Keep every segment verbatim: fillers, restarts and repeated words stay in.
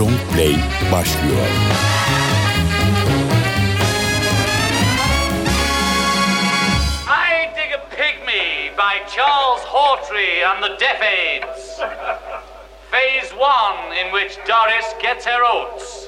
Long Play başlıyor. I Dig a Pygmy by Charles Hawtrey and the Deaf Aids. Phase one, in which Doris gets her oats.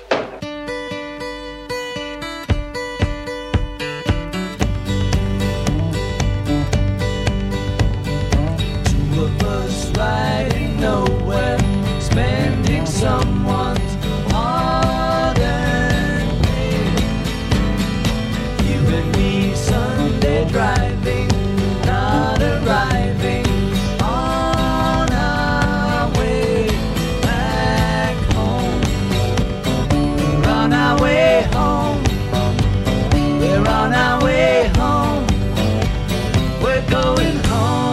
Two of us riding nowhere, spending someone's hard-earned day. You and me Sunday driving, not arriving on our way back home. We're on our way home. We're on our way home. We're going home.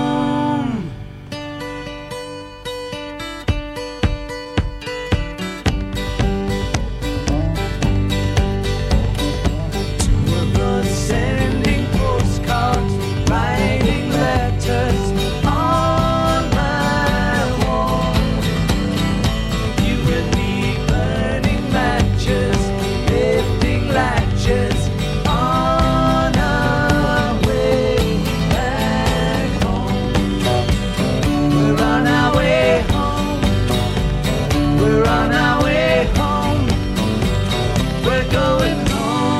Sending postcards, writing letters on my wall. You and me burning matches, lifting latches on our way back home. We're on our way home. We're on our way home. We're going home.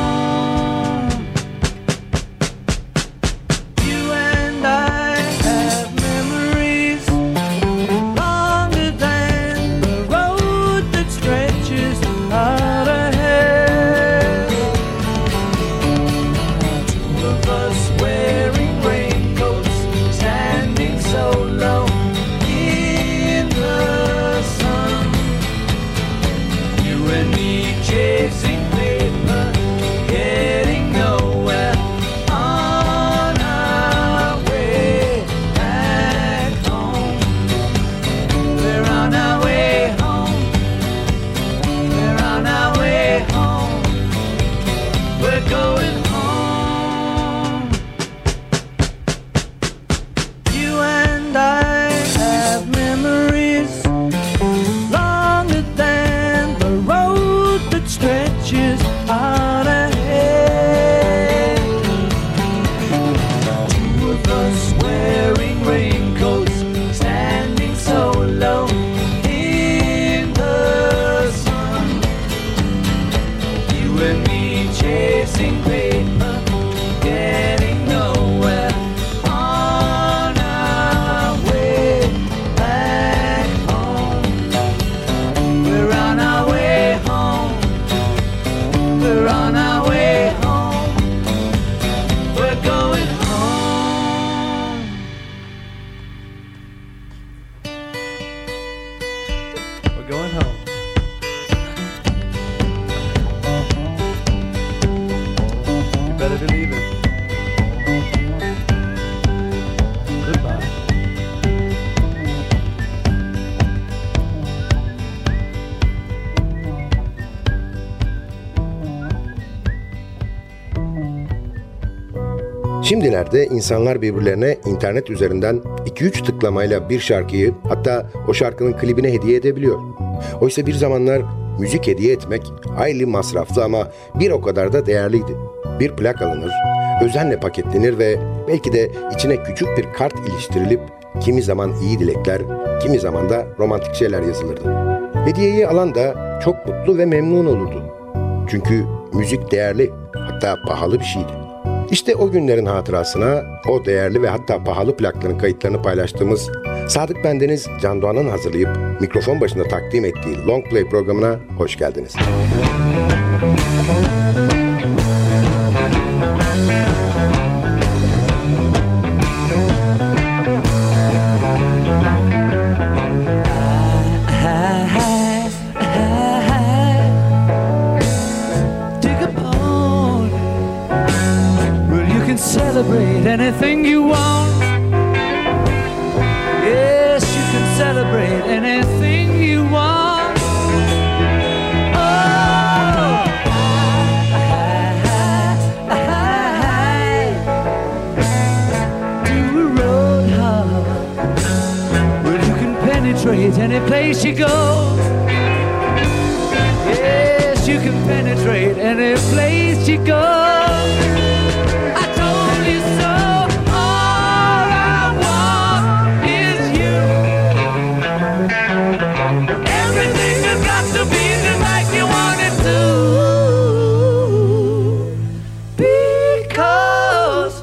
Şimdilerde insanlar birbirlerine internet üzerinden iki üç tıklamayla bir şarkıyı, hatta o şarkının klibine hediye edebiliyor. Oysa bir zamanlar müzik hediye etmek hayli masraflı ama bir o kadar da değerliydi. Bir plak alınır, özenle paketlenir ve belki de içine küçük bir kart iliştirilip kimi zaman iyi dilekler, kimi zaman da romantik şeyler yazılırdı. Hediyeyi alan da çok mutlu ve memnun olurdu. Çünkü müzik değerli, hatta pahalı bir şeydi. İşte o günlerin hatırasına o değerli ve hatta pahalı plakların kayıtlarını paylaştığımız Sadık Bendeniz Can Doğan'ın hazırlayıp mikrofon başında takdim ettiği Long Play programına hoş geldiniz. Celebrate anything you want. Yes, you can celebrate anything you want. Oh, do a road hop where you can penetrate any place you go. can penetrate any place you go. I told you so. All I want is you. Everything has got to be just like you want it to. Because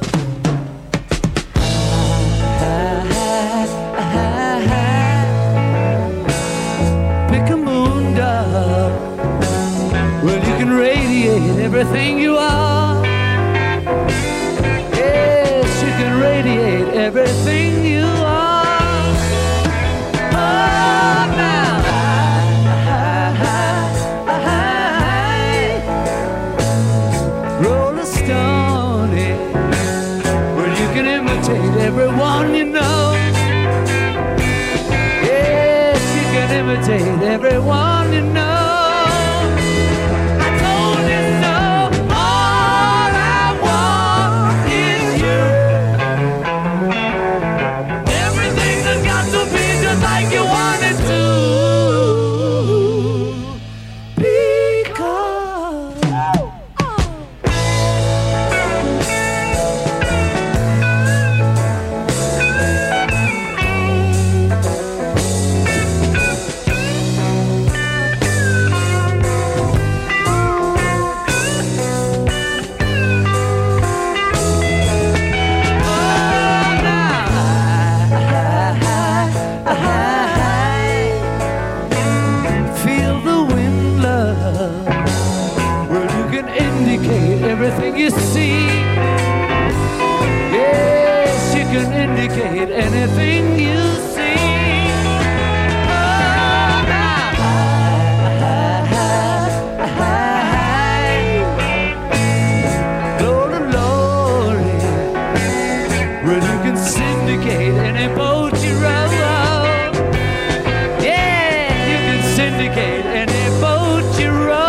pick a moon dove. Well, you can radiate everything you are. Yes, you can radiate everything you are. Oh, now. Roll a stone, yeah. Well, you can imitate everyone you know. Yes, you can imitate everyone you know. Everything you see, yes, you can indicate anything you see. Oh, now. Glory, glory. Well, you can syndicate any boat you row. Yeah, you can syndicate any boat you row.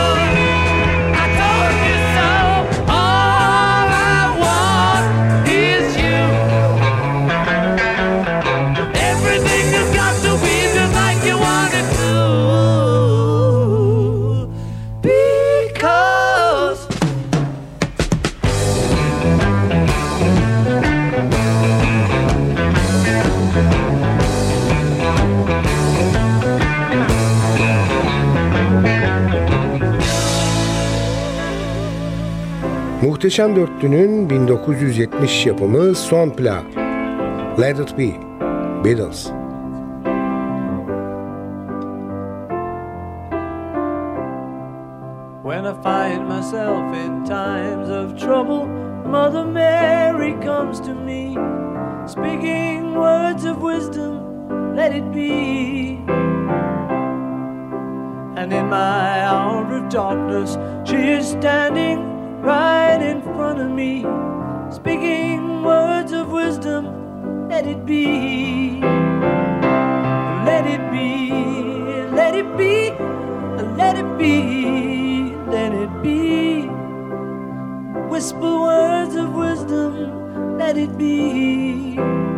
Muhteşem Dörtlü'nün bin dokuz yüz yetmiş yapımı son plağı Let It Be, Beatles. When I find myself in times of trouble, Mother Mary comes to me, speaking words of wisdom, let it be. And in my hour of darkness, she is standing right in front of me, speaking words of wisdom, let it be. Let it be, let it be, let it be, let it be. Whisper words of wisdom, let it be.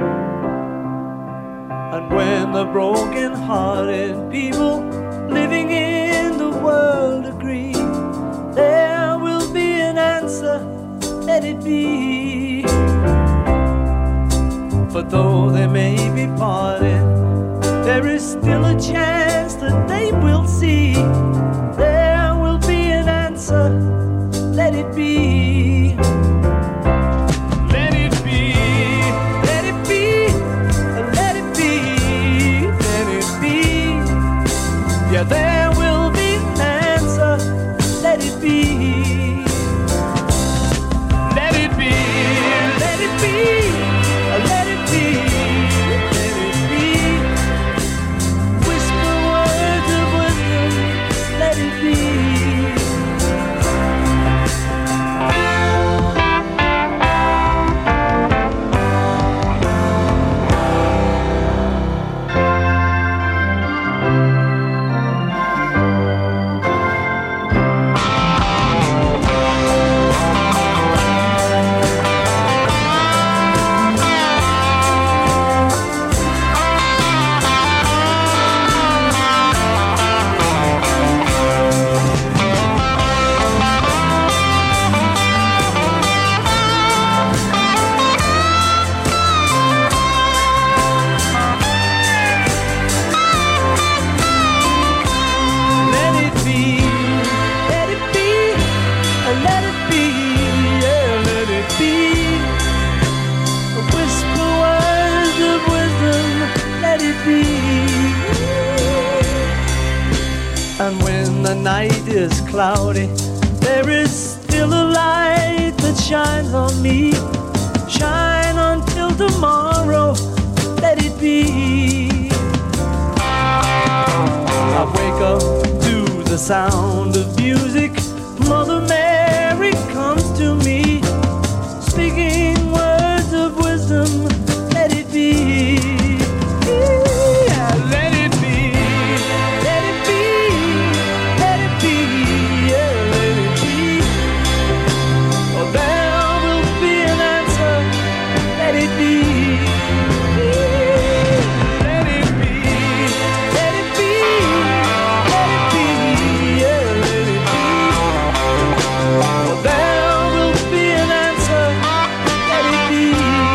And when the broken-hearted people living in the world agree, there will be an answer, let it be. For though they may be parted, there is still a chance that they will see. There will be an answer, let it be. Let it be, let it be, let it be, let it be. Yeah, there will be an answer, let it be. Let it be, let it be, let it be, let it be. Whisper words of wisdom, let it be. the night is cloudy, there is still a light that shines on me. Shine until tomorrow, let it be. I wake up to the sound of music. Mother Mary comes to me, speaking words of wisdom. Let it be. Yeah, let it be. Let it be. Let it be. Yeah, let it be. Oh, there will be an answer. Let it be. Let it be. Let it be. Let it be. Yeah, let it be. Oh, there will be an answer. Let it be.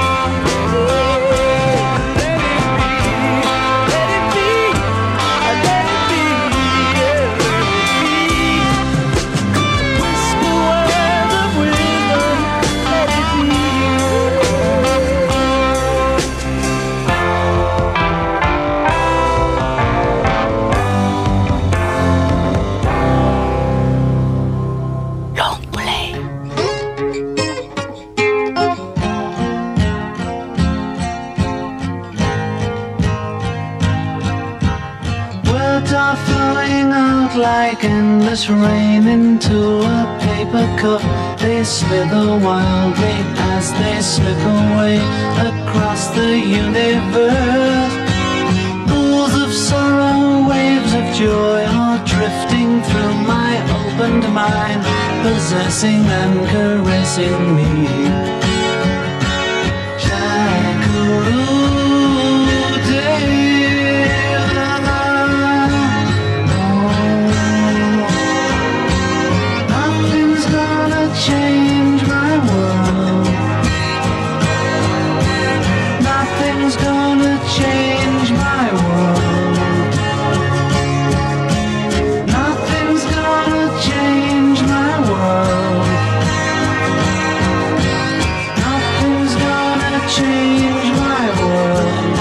Like endless rain into a paper cup, they slither wildly as they slip away across the universe. Pools of sorrow, waves of joy are drifting through my opened mind, possessing and caressing me. Change my world. Nothing's gonna change my world. Nothing's gonna change my world. Nothing's gonna change my world.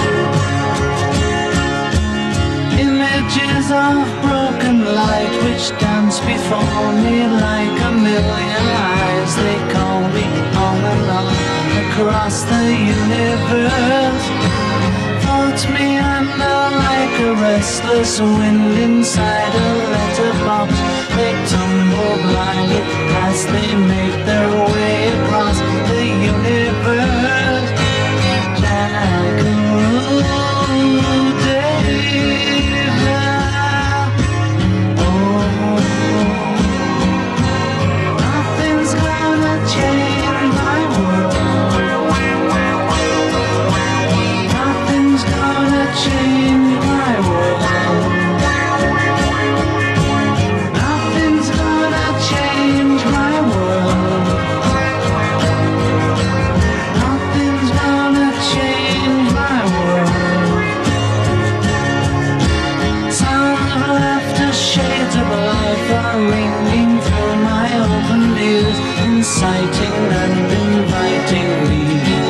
Images of broken light which dance before me like a million eyes. They call me on and on across the universe. Thoughts meander like a restless wind inside a letterbox. They tumble blindly as they make their way across the universe. Jackaroo David. Nothing's gonna change my world. Nothing's gonna change my world. Nothing's gonna change my world. Nothing's gonna change my world. Sounds of laughter, shades of life are ringing through my open ears, inciting and inviting me.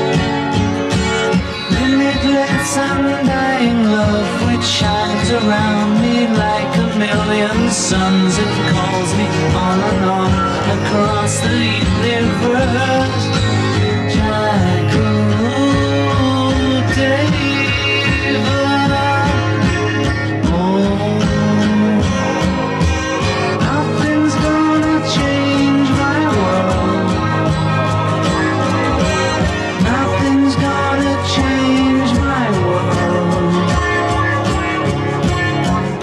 Limitless undying love which shines around me like a million suns. It calls me on and on across the universe. Jackaroo David. Oh, nothing's gonna change my world. Nothing's gonna change my world.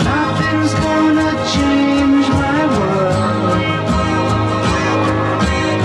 Nothing's gonna change my world.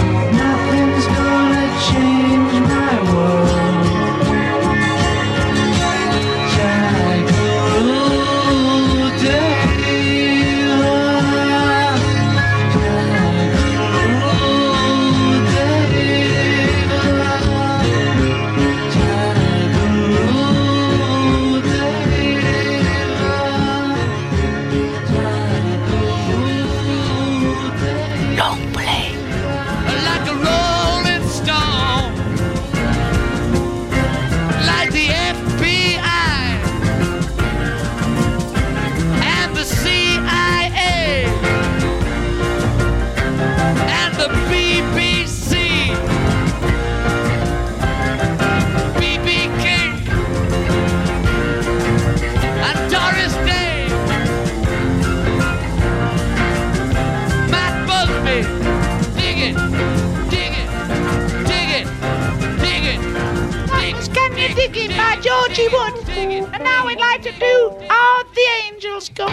like to do all the angels go.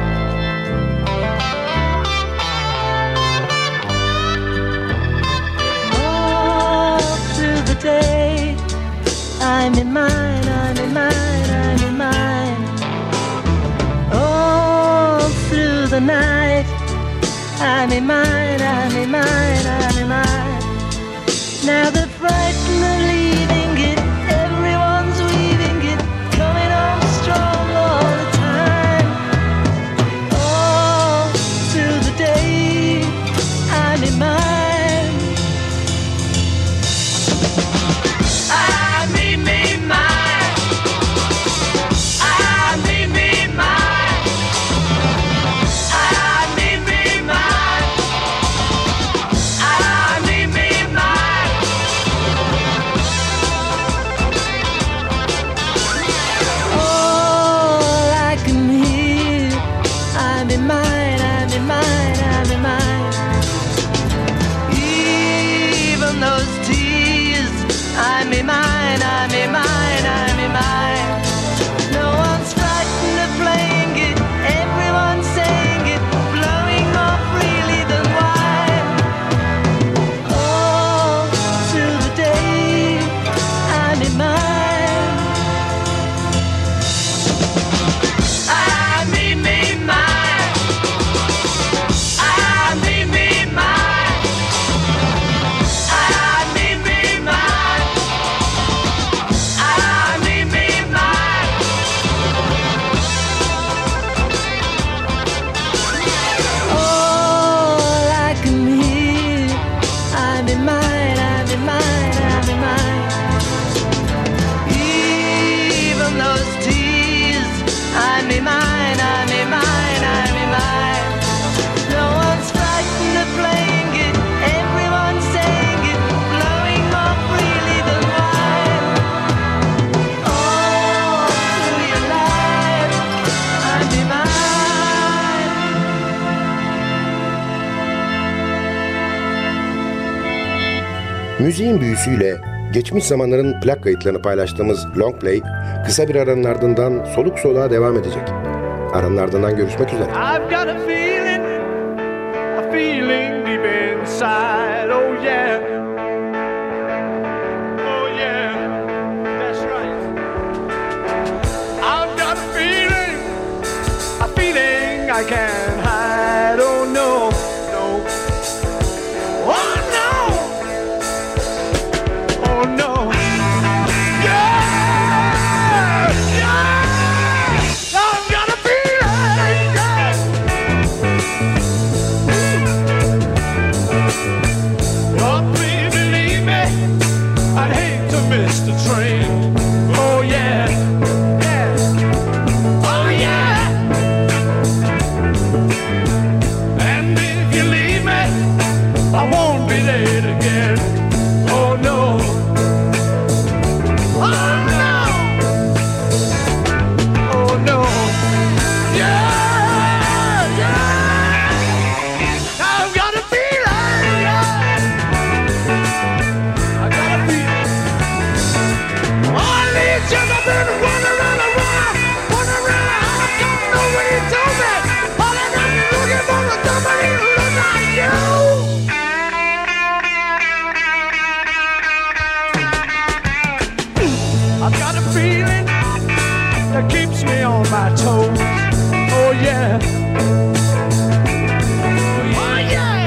All through the day, I'm in mine, I'm in mine, I'm in mine. All through the night, I'm in mine, I'm in mine, I'm in mine. Now the frightened are leaving it, everyone's weaving it, coming on strong all the time. All through the day, I'm in mine. Müziğin büyüsüyle geçmiş zamanların plak kayıtlarını paylaştığımız Long Play kısa bir aranın ardından soluk soluğa devam edecek. Aranın ardından görüşmek üzere. I've got a feeling, a feeling deep inside, oh yeah. Oh yeah, that's right. I've got a feeling, a feeling I can't hide, oh no, no. Oh no, oh no. Yeah, yeah. I've got a feeling, yeah. Oh, please believe me, I'd hate to miss the train. Oh yeah, yeah. Oh yeah. And if you leave me, I won't be late again. Oh no. Oh no. Oh no. Yeah, yeah. I've got a feeling, yeah. I got a feeling. All these years I've been running around, around, running around. I don't know what he told me. All I know is looking for a somebody who looks like you. I've got a feeling that keeps me on my toes. Oh yeah. Oh yeah.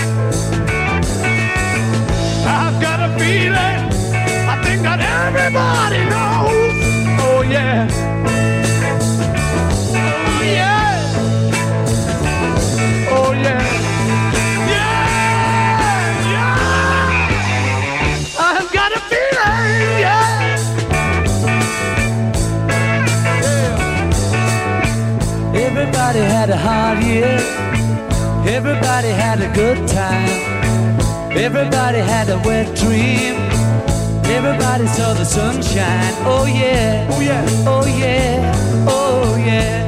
I've got a feeling I think that everybody knows. Oh yeah. Oh yeah. Oh yeah. Yeah, yeah. I've got a feeling, yeah. Everybody had a hard year. Everybody had a good time. Everybody had a wet dream. Everybody saw the sunshine. Oh yeah. Oh yeah. Oh yeah. Oh yeah.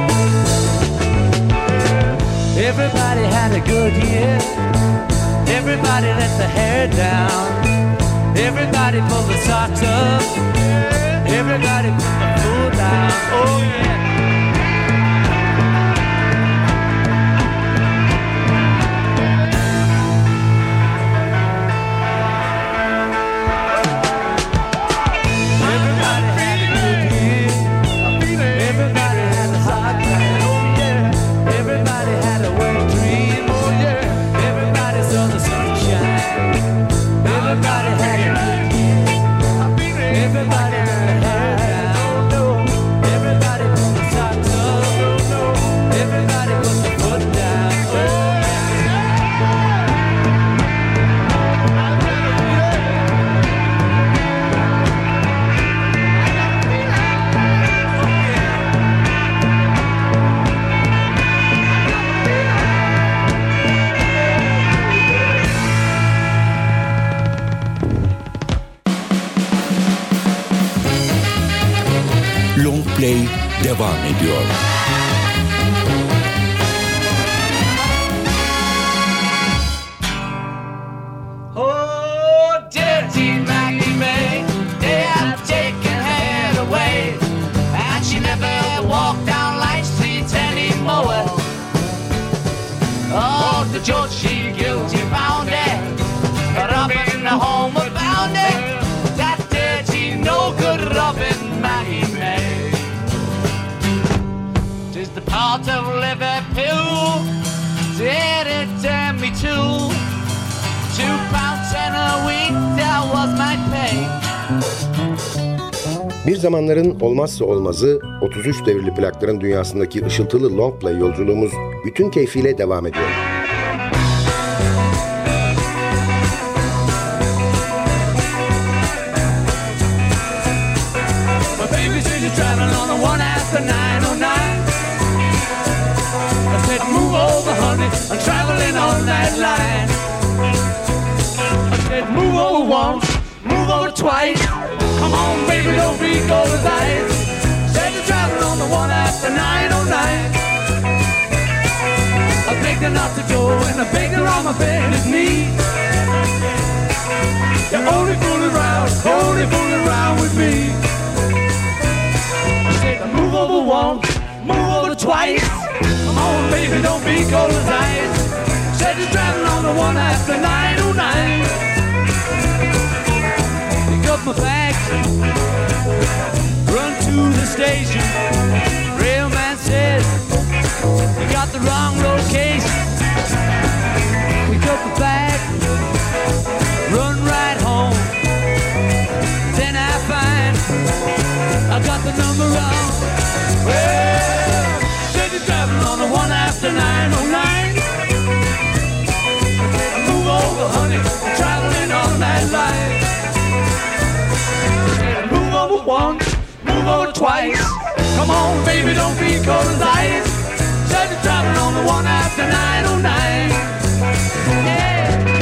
Everybody had a good year. Everybody let the hair down. Everybody pulled the socks up. Everybody put the food down. down. Oh yeah. Long Play devam ediyor. Oh, dirty Maggie May, they have taken her away, and she never walked down Light Street anymore. Oh, the judge, she guilty found her, robbing the home of found her, that dirty, no good Robin Maggie May. 'Tis the part of Liverpool, did it turn me to two pounds and a week, that was my pay. Bir zamanların olmazsa olmazı otuz üç devirli plakların dünyasındaki ışıltılı long play yolculuğumuz bütün keyfiyle devam ediyor. I'm traveling on that line. I said move over once, move over twice. Come on baby, don't be cold as ice. Said you're traveling on the one after nine oh nine. I begged her not to go and I begged her on my bended knee. You're only fooling around, only fooling around with me. I said move over once, move over twice. Come on, baby, don't be cold as ice. Said you're driving on the one after nine oh nine. Pick up my bags, run to the station. Railman says you got the wrong location. Pick up the bag, run right home. Then I find I got the number wrong. Well, driving on the one after nine oh nine. Move over, honey, I'm traveling on that line. Move over once, move over twice. Come on, baby, don't be cold as ice. Said you're driving on the one after nine oh nine. Yeah.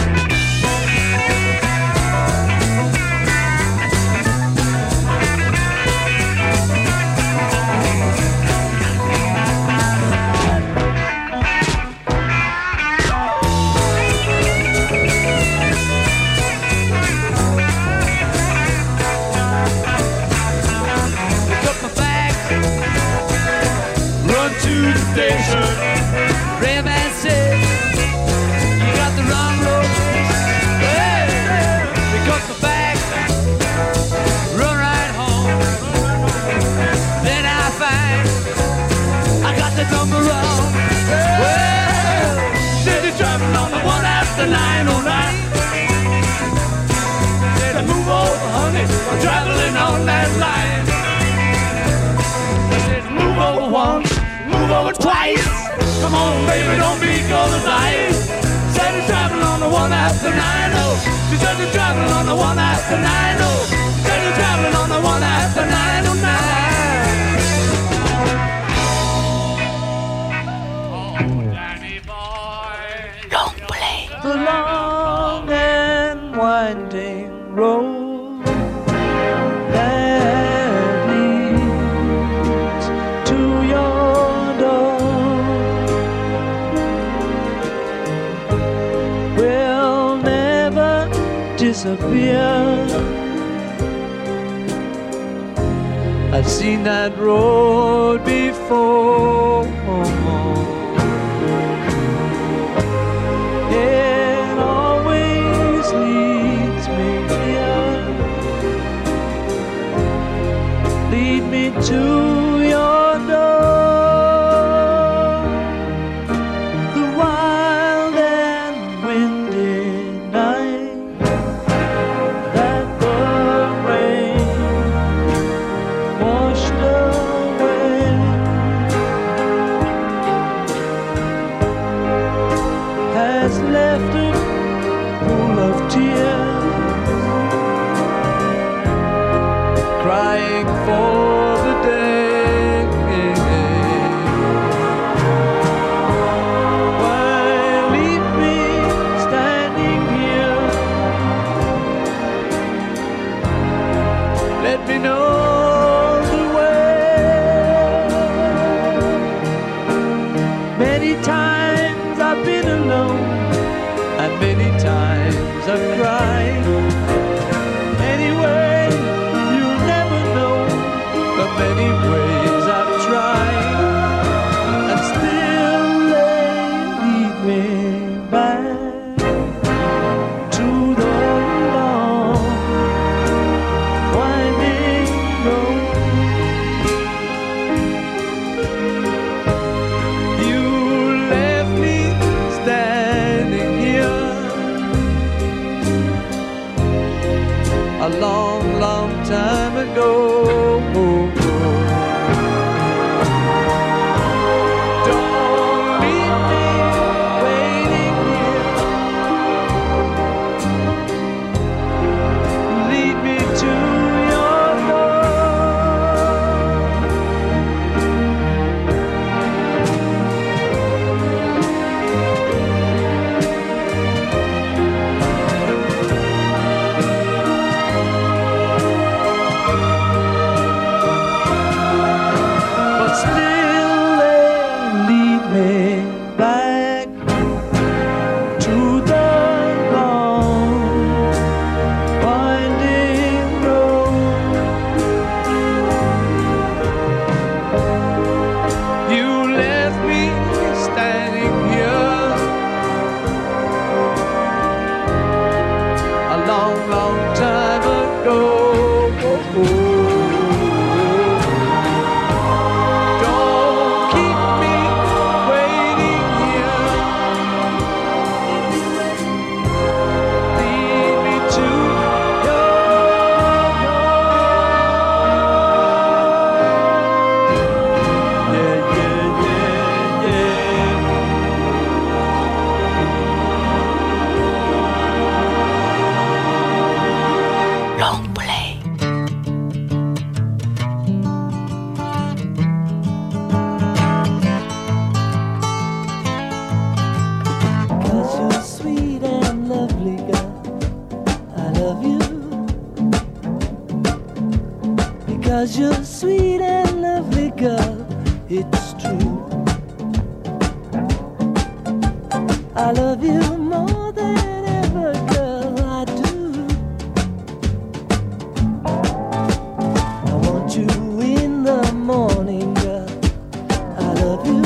Station. Railman said you got the wrong location. Hey, pick up the bag, run right home. Then I find I got the number wrong. Well, said you're driving on the one after nine oh nine. Said I move over, honey, I'm traveling on that line. I said move over once, move over twice. Come on, baby, don't be cold as ice. Said you're traveling on the one after nine oh. She said you're traveling on the one after nine oh. Said you're traveling on the one after nine oh nine. Oh, Danny boy. Long play. The long and winding road that leads to your door will never disappear I've seen that road before. It always leads me here. Lead me to your door. The wild and windy night that the rain washed away has left a pool of tears, crying for the day why leave me standing here? Let me know the way. Many times I've been alone, and many times I've cried. Anyway, you'll never know the many ways I've tried, and still they lead me back to the long, winding road. You left me standing here a long, long time ago. Don't leave me waiting here. Lead me to your but still they lead me back to the long, winding road. You left me standing here a long, long time ago. Don't keep me waiting here. Lead me to your yeah, yeah, yeah, yeah. Long play. Cause you're sweet and lovely, girl. I love you. Because you're sweet and lovely, girl. It's true. I love you more than ever, girl. I do. I want you in the morning, girl. I love you.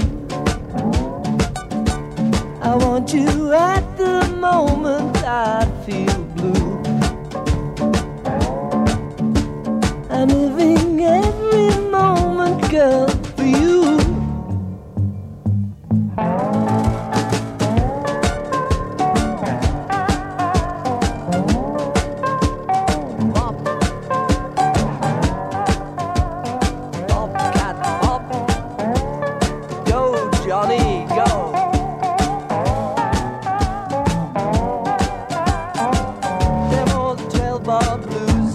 I want you at the moment I feel blue. I'm living every moment, girl, for you. Bop. Bobcat, bop. Go, Johnny, go. Demo the twelve bar blues.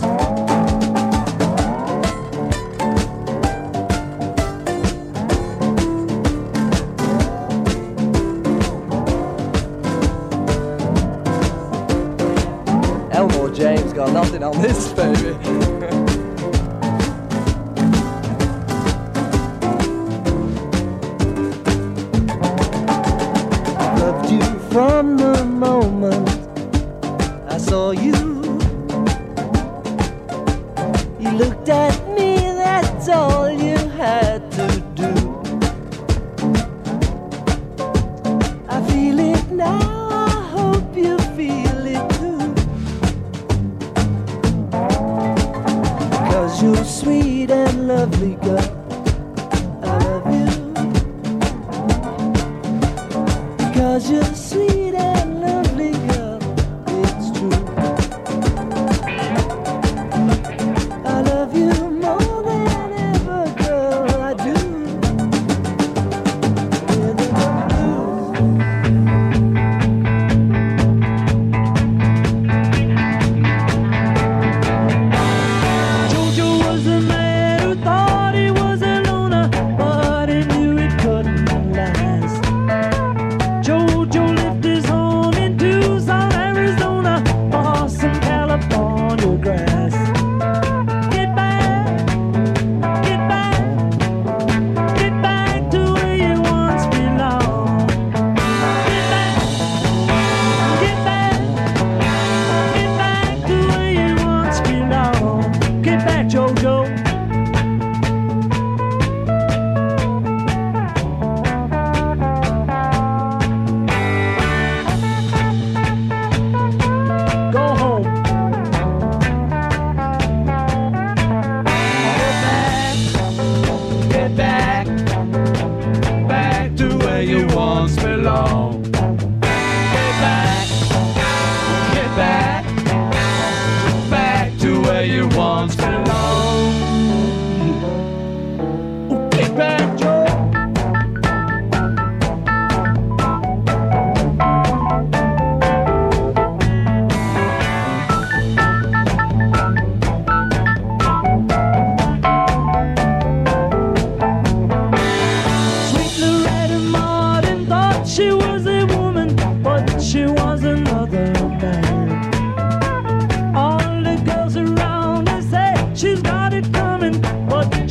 Elmore James got nothing on this, baby. Loved you from the moment saw you. You looked at me,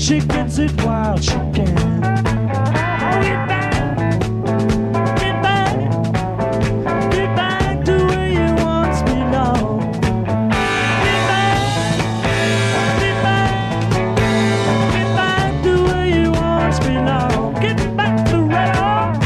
she gets it while she can. Oh, get back, get back, get back to where you once belonged. Get back, get back, get back to where you once belonged. Get back to right on.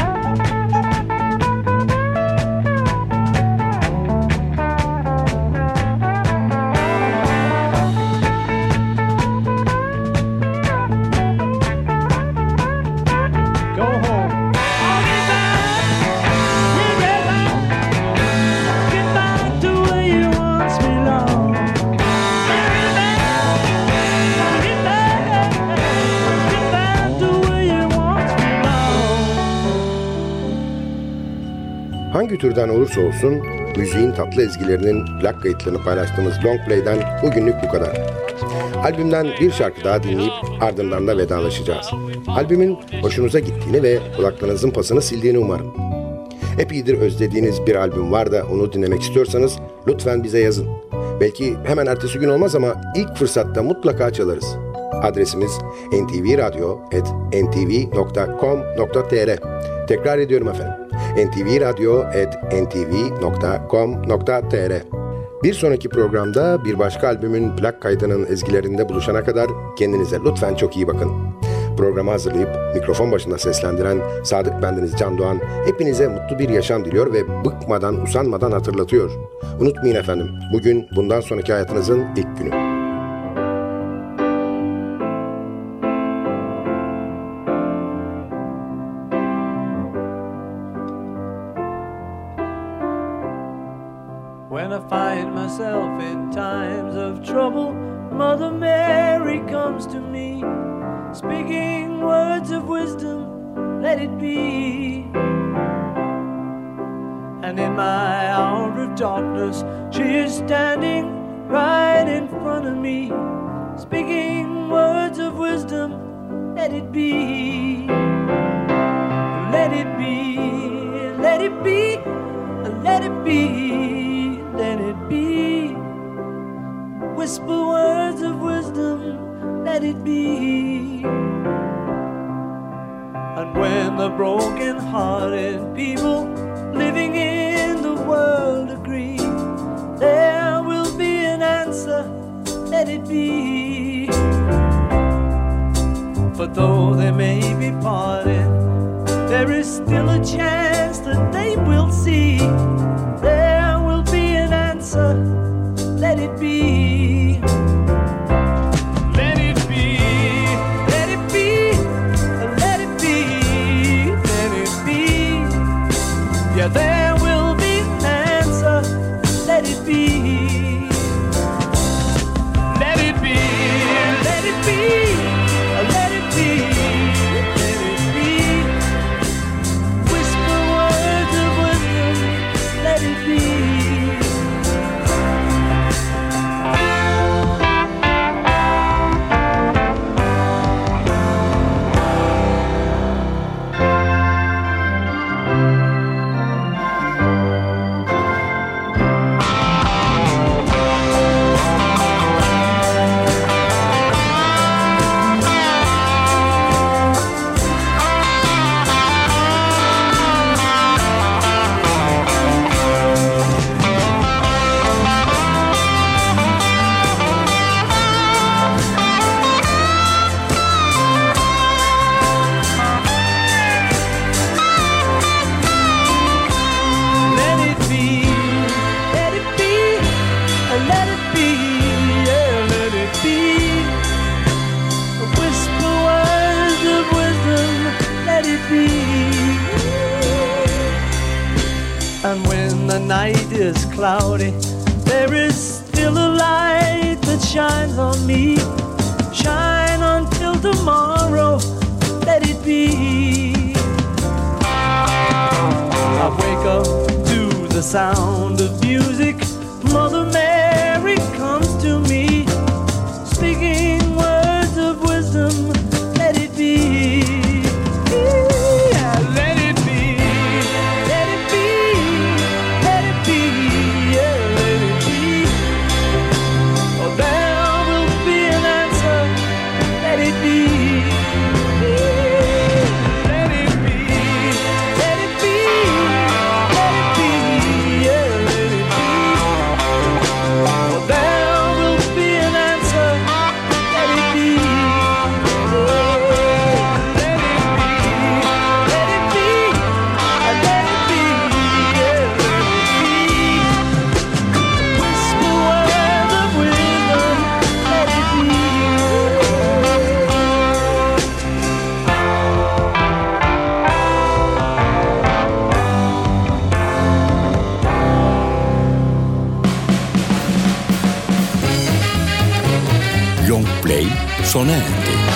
Hangi türden olursa olsun müziğin tatlı ezgilerinin plak kayıtlarını paylaştığımız Long Play'den bugünlük bu kadar. Albümden bir şarkı daha dinleyip ardından da vedalaşacağız. Albümün hoşunuza gittiğini ve kulaklarınızın pasını sildiğini umarım. Epeydir özlediğiniz bir albüm var da onu dinlemek istiyorsanız lütfen bize yazın. Belki hemen ertesi gün olmaz ama ilk fırsatta mutlaka çalarız. Adresimiz en ti vi radyo at en ti vi nokta com nokta tr. Tekrar ediyorum efendim. en ti vi radyo at en ti vi nokta com nokta tr. Bir sonraki programda bir başka albümün plak kaydının ezgilerinde buluşana kadar kendinize lütfen çok iyi bakın. Programı hazırlayıp mikrofon başında seslendiren Sadık bendeniz Can Doğan hepinize mutlu bir yaşam diliyor ve bıkmadan, usanmadan hatırlatıyor. Unutmayın efendim, bugün bundan sonraki hayatınızın ilk günü. When I find myself in times of trouble, Mother Mary comes to me, speaking words of wisdom, let it be. And in my hour of darkness, she is standing right in front of me, speaking words of wisdom, let it be. Let it be, let it be, let it be, let it be. Whisper words of wisdom, let it be. And when the broken-hearted people living in the world agree, there will be an answer, let it be. For though they may be parted, there is still a chance that they will see. There will be an answer, let it be. Let it be, let it be, let it be, let it be. Yeah, there will be an answer, let it be. Let it be, let it be, let it be, let it be. Whisper words of wisdom, let it be. And when the night is cloudy, there is still a light that shines on me. Shine until tomorrow, let it be. I wake up to the sound of music. Mother Mary comes to me, speaking words of wisdom, let it be. Be sona erdi.